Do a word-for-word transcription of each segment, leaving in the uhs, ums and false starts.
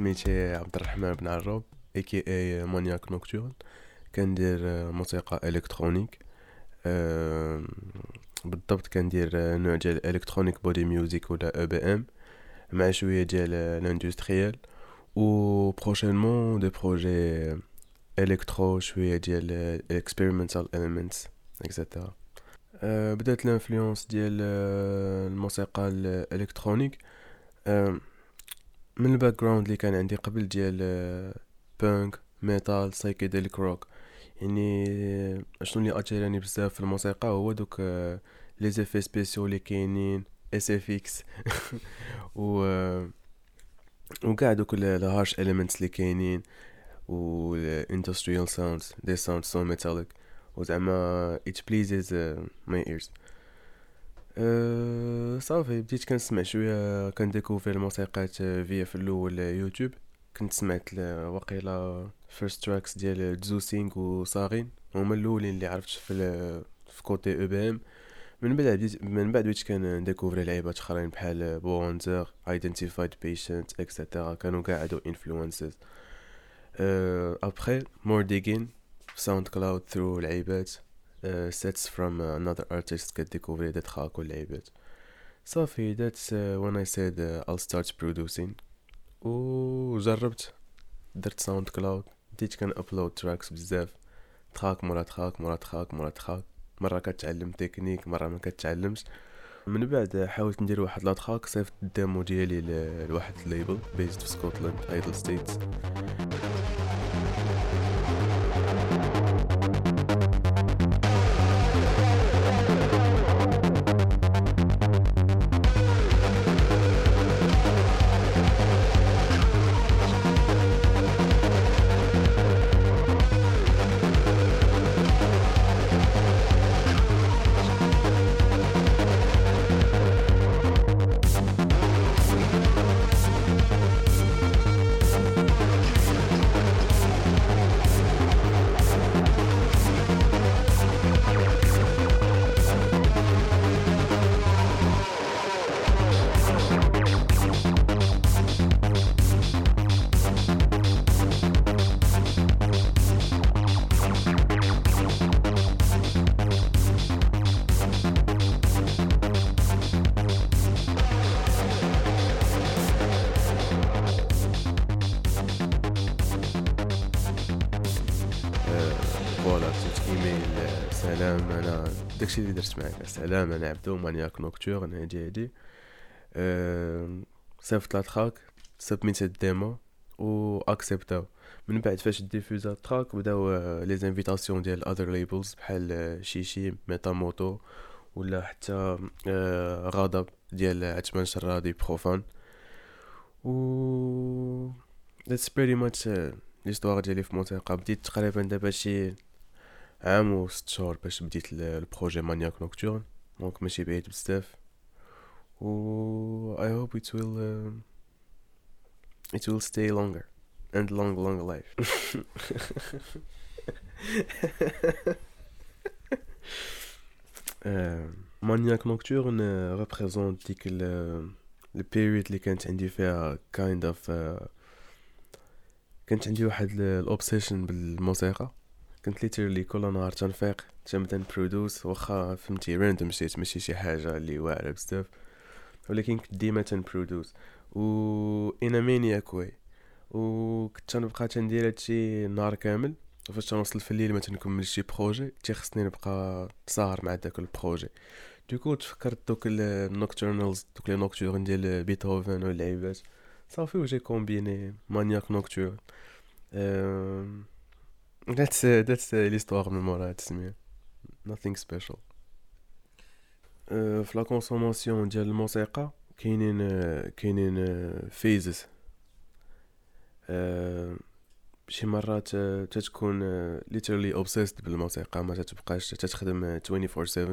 سميتي عبد الرحمن بن عروب اي كي اي مانياك نوكتورن. كندير آه، موسيقى الكترونيك. آه، بالضبط كندير آه، نوع ديال الكترونيك بودي ميوزيك ولا او بي ام مع شويه ديال الاندستريال، و بروشينمون دي بروجي الكترو شويه ديال الاكسبيرمنتال اليمنتس اكسيتيرا. أه بدات الانفلونس ديال آه، الموسيقى الالكترونيك أه من الباك جراوند اللي كان عندي قبل ديال بانك ميتال سايكيديليك روك. يعني آه، شنو اللي اتيراني بزاف في الموسيقى هو دوك آه، لي زيفي سبيسيو اللي كاينين اس اف اكس و آه، وكاع دوك الهارش اليمنتس اللي كاينين و الاندستريال ساوندز دي ساوند سو ميتاليك وزعما it pleases uh, my ears. أه صافي بديت كنسمع شويه كنديكوفر الموسيقات فيا في الاول يوتيوب. كنت سمعت ل- وقيلا فيرست تراكس ديال تزوسينغ وصاغين هما الاولين اللي عرفت في ال- في كوتي او بي ام. من بعد بديت من بعد بديت كنديكوفر لعيبات اخرين بحال بوانزر ايدنتيفايد بيشنت اكسيتيرا، كانوا قاع هادو انفلونسز. ابخي مور ديغين ساوند كلاود ثرو لعيبات sets from another artist كديكوفري دي تراك واللعيبات. صافي that's uh, when I said uh, I'll start producing. وجربت درت ساوند كلاود، بديت كان ابلود تراكس بزاف، تراك مورا تراك مورا تراك مورا تراك. مره كتعلم تكنيك مره ما كتعلمش. من بعد حاولت ندير واحد لا تراك صيفط الديمو ديالي ل- لواحد الليبل بيزد في سكوتلاند ايدل ستيتس. فوالا كتبت ايميل آه، سلام انا داكشي اللي درت معاك. سلام انا عبدو مانياك نوكتورن هادي هادي. أه صيفط لا تراك سبميت الديمو و اكسبتاو. من بعد فاش ديفوزا التراك بداو آه، لي زانفيتاسيون ديال اذر ليبلز بحال آه، شيشي ميتا موتو ولا حتى آه، غضب ديال عثمان شرادي بروفان. و that's pretty much آه، ليستوار ديالي في الموسيقى. بديت تقريبا دابا شي عام و ست شهور باش بديت ال- البروجي مانياك نوكتورن، دونك ماشي بعيد بزاف. و I hope it will uh, it will stay longer and long long life. مانياك نوكتورن ريبريزونت ديك ال البيريود اللي كانت عندي فيها kind of uh, كانت عندي واحد الاوبسيشن بالموسيقى. كنت ليترلي كل نهار تنفيق تنبدا نبرودوس، واخا فهمتي راندوم شيت ماشي شي حاجه اللي واعره بزاف، ولكن كنت ديما تنبرودوس و انا مانياك واي. وكنت تنبقى تندير هادشي نهار كامل، وفاش تنوصل في الليل ما تنكملش شي بروجي تيخصني نبقى ساهر مع داك البروجي. دوكو تفكرت دوك النوكتورنالز دوك لي نوكتورن ديال بيتهوفن واللعيبات. صافي وجي كومبيني مانياك نوكتورن. أم... that's that's l'histoire من مورا هاد التسمية. nothing special. أه، في لا كونسوماسيون ديال الموسيقى كاينين أه، كاينين فيزز. شي مرات أه، تتكون أه، literally obsessed بالموسيقى، ما تتبقاش تتخدم أه، twenty four seven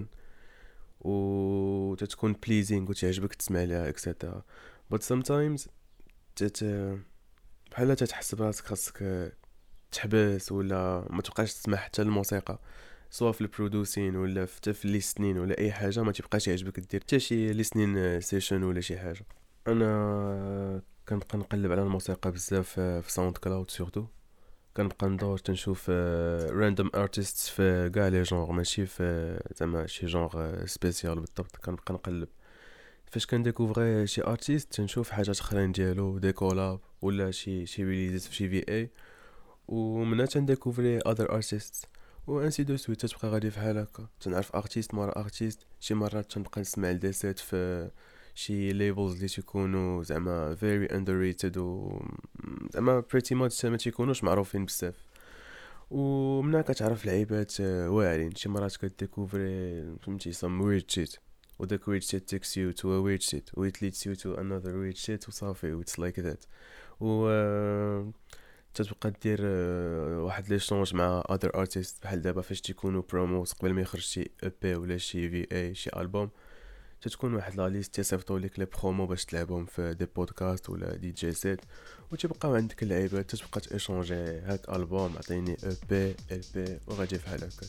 و تتكون pleasing وتعجبك تسمع لها اكسيتيرا. but sometimes تت بحال تتحس براسك خاصك أه، تحبس ولا ما تبقاش تسمع حتى الموسيقى، سواء في البرودوسين ولا حتى في الليسنين ولا اي حاجه، ما تبقاش يعجبك دير حتى شي ليسنين سيشن ولا شي حاجه. انا كنبقى نقلب على الموسيقى بزاف في ساوند كلاود سورتو. كنبقى ندور تنشوف راندوم ارتيست في كاع لي جونغ، ماشي في زعما شي جونغ سبيسيال بالضبط. كنبقى نقلب فاش كنديكوفري شي ارتيست، تنشوف حاجات اخرين ديالو دي كولاب ولا شي شي ريليزز في شي في اي، ومنها تنديكوفري اذر ارتيست و انسي دو سويت. تبقى غادي فحال هكا، تنعرف ارتيست مورا ارتيست. شي مرات تنبقى نسمع لدي سيت في شي ليبلز اللي تيكونوا زعما very underrated و زعما pretty much ما تيكونوش معروفين بزاف، ومنها كتعرف لعيبات آه، واعرين. شي مرات كديكوفري فهمتي some weird shit، و داك weird shit takes you to a weird shit و it leads you to another weird shit وصافي و it's like that. و آه، تتبقى دير آه، واحد لي شونج مع other artists بحال دابا فاش تيكونوا بروموس قبل ما يخرج شي اي بي ولا شي في اي شي البوم، تتكون واحد لا ليست تيصيفطوا لك لي برومو باش تلعبهم في دي بودكاست ولا دي جي سيت، وتبقاو عندك اللعيبات تتبقى تيشونجي هاك البوم عطيني اي بي ال بي وغادي بحال هكا.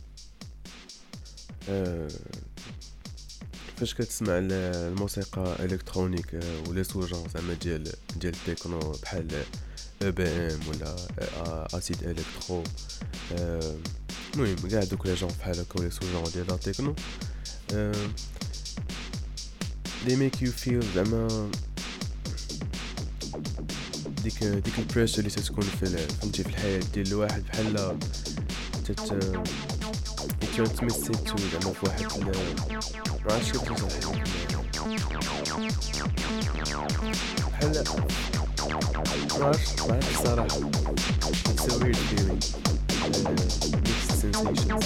أه فاش كتسمع الموسيقى الكترونيك أه ولا سوجون زعما ديال ديال التكنو بحال اي بي ام ولا اسيد الكترو، المهم أه كاع دوك لي جون بحال هكا ولا سوجون ديال لا تكنو، أه they make you feel زعما ديك ديك البريشر اللي تتكون في فهمتي في الحياة ديال الواحد، بحال تت ترانسميت تو زعما في واحد ما عرفتش كيف نشرح لك، بحال ما عرفتش ما عرفتش الصراحة. it's a weird feeling uh, mixed sensations.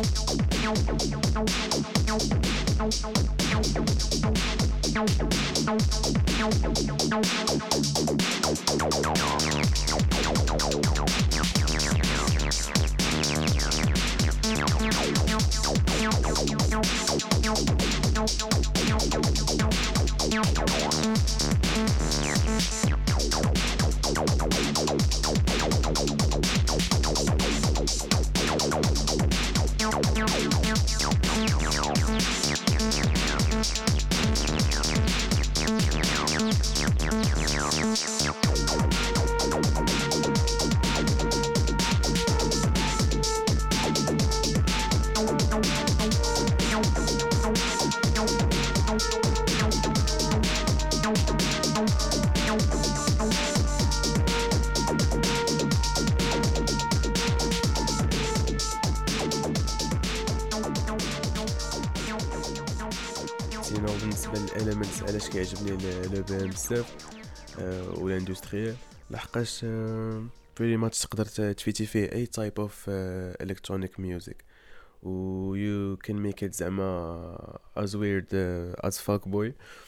بالنسبه للاليمنتس علاش كيعجبني لو بي ام بزاف ولا اندستريال، لحقاش بريتي ماتش تقدر تفيتي فيه اي تايب اوف الكترونيك ميوزك و you can make it زعما as weird uh, as fuck boy،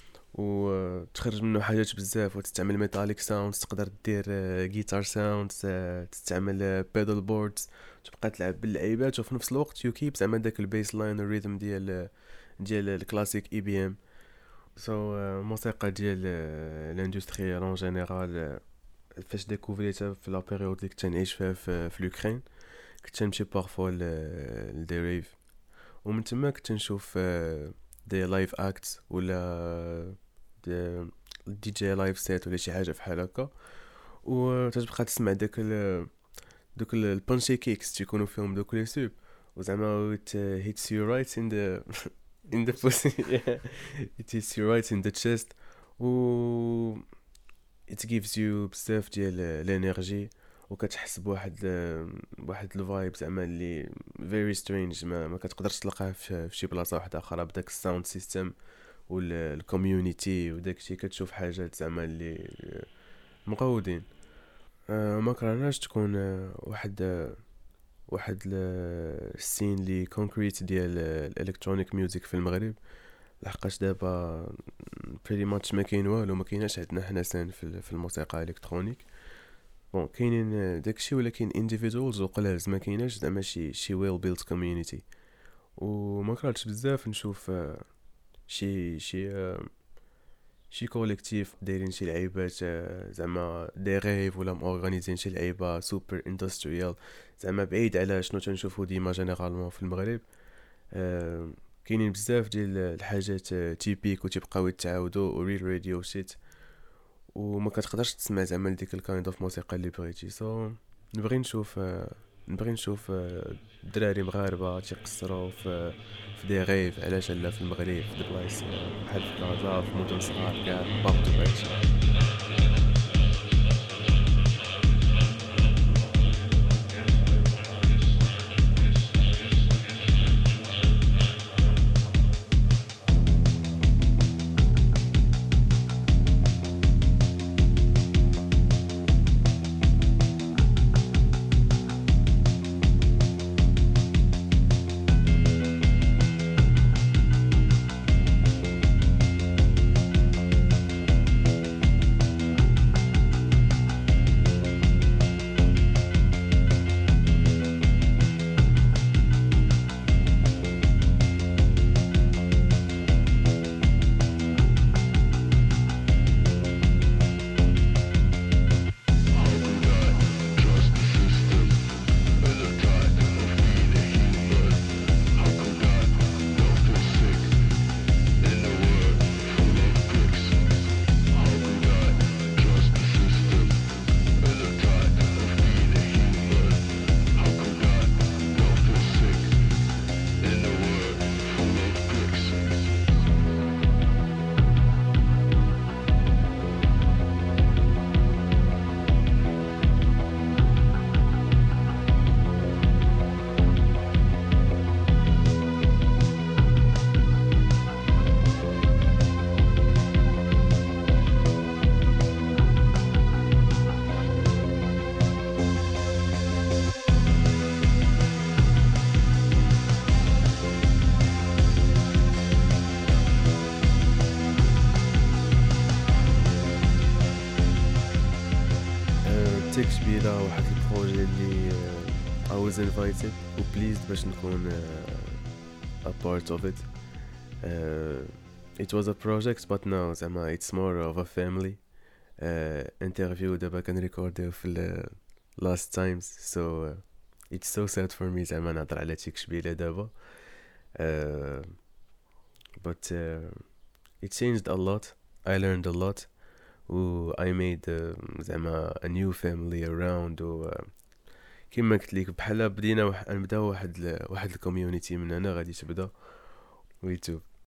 و تخرج منه حاجات بزاف وتستعمل ميتاليك ساوندز، تقدر دير جيتار ساوندز، تستعمل بيدال بوردز، تبقى تلعب باللعيبات وفي نفس الوقت يو كيب زعما داك البيس لاين الريتم ديال ديال الكلاسيك اي بي ام. سو الموسيقى ديال الاندستريال اون جينيرال فاش ديكوفريتها في لا بيريود اللي كنت نعيش فيها في, في لوكرين، كنت نمشي بارفوا لدي ريف، ومن تما كنت نشوف دي لايف اكت ولا دي دي جي لايف سيت ولا شي حاجه بحال هكا، وتتبقى تسمع داك ال دوك البانشي كيكس تيكونوا فيهم دوك لي سوب، وزعما it uh, hits you right in the in the pussy. Yeah. It hits you right in the chest و it gives you بزاف ديال الانرجي، وكتحس بواحد بواحد الفايب زعما اللي very strange ما, ما كتقدرش تلقاه في, في شي بلاصه واحده اخرى بداك الساوند سيستم والكوميونيتي وداك الشيء. كتشوف حاجات زعما اللي مقودين. أه ما كرهناش تكون واحد واحد السين لي كونكريت ديال الالكترونيك ميوزك في المغرب، لحقاش دابا بريتي ماتش ما كاين والو، ما كايناش عندنا حنا سين في, في الموسيقى الالكترونيك. بون كاينين داكشي ولكن انديفيدوالز وقلال، ما كايناش زعما شي شي ويل بيلت كوميونيتي. وما كرهتش بزاف نشوف شي شي شي كوليكتيف دايرين شي لعيبات زعما دي ريف ولا مورغانيزين شي لعيبه سوبر اندستريال، زعما بعيد على شنو تنشوفو ديما جينيرالمون في المغرب. أه كاينين بزاف ديال الحاجات تيبيك وتبقاو يتعاودوا وريل راديو شيت، وما كتقدرش تسمع زعما ديك الكايند اوف موسيقى اللي بغيتي. سو نبغي نشوف آه، نبغي نشوف آه، دراري مغاربه تيقصروا في في دي غيف، علاش لا في المغرب في دي بلايص آه، بحال في كازا في مدن صغار كاع بارتو بهادشي. تيك شبيله واحد البروجي اللي uh, I was invited و pleased باش نكون uh, a part of it. uh, it was a project but now زعما it's more of a family uh, interview دابا كنريكورديو في ال last times. so uh, it's so sad for me زعما نهضر على تيك شبيله دابا. uh, but uh, it changed a lot. I learned a lot و I made uh, زعما a new family around. و uh, كما قلت لك بحال بدينا وح... نبداو واحد ل... واحد الكوميونيتي من هنا غادي تبدا ويتو.